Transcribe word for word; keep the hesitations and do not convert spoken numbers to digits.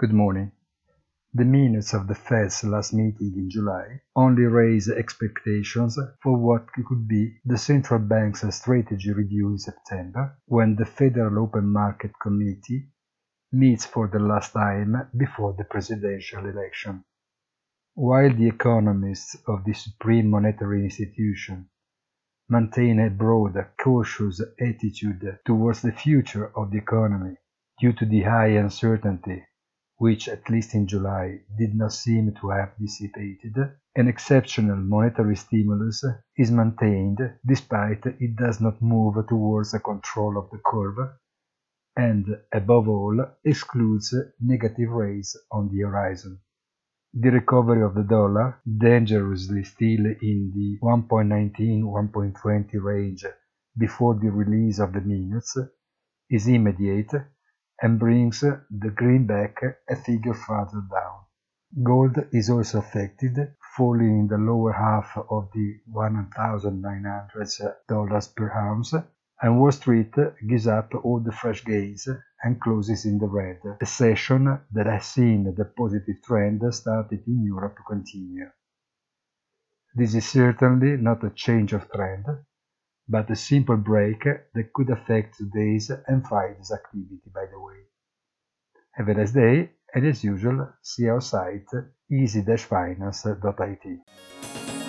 Good morning. The minutes of the Fed's last meeting in July only raise expectations for what could be the central bank's strategy review in September, when the Federal Open Market Committee meets for the last time before the presidential election. While the economists of the supreme monetary institution maintain a broad, cautious attitude towards the future of the economy due to the high uncertainty which, at least in July, did not seem to have dissipated, an exceptional monetary stimulus is maintained despite it does not move towards a control of the curve and, above all, excludes negative rates on the horizon. The recovery of the dollar, dangerously still in the one point nineteen to one point twenty range before the release of the minutes, is immediate and brings the greenback a figure further down. Gold is also affected, falling in the lower half of the one thousand nine hundred dollars per ounce, and Wall Street gives up all the fresh gains and closes in the red, a session that has seen the positive trend started in Europe continue. This is certainly not a change of trend, but a simple break that could affect today's and Friday's activity, by the way. Have a nice day, and as usual, see our site easy dash finance dot I T.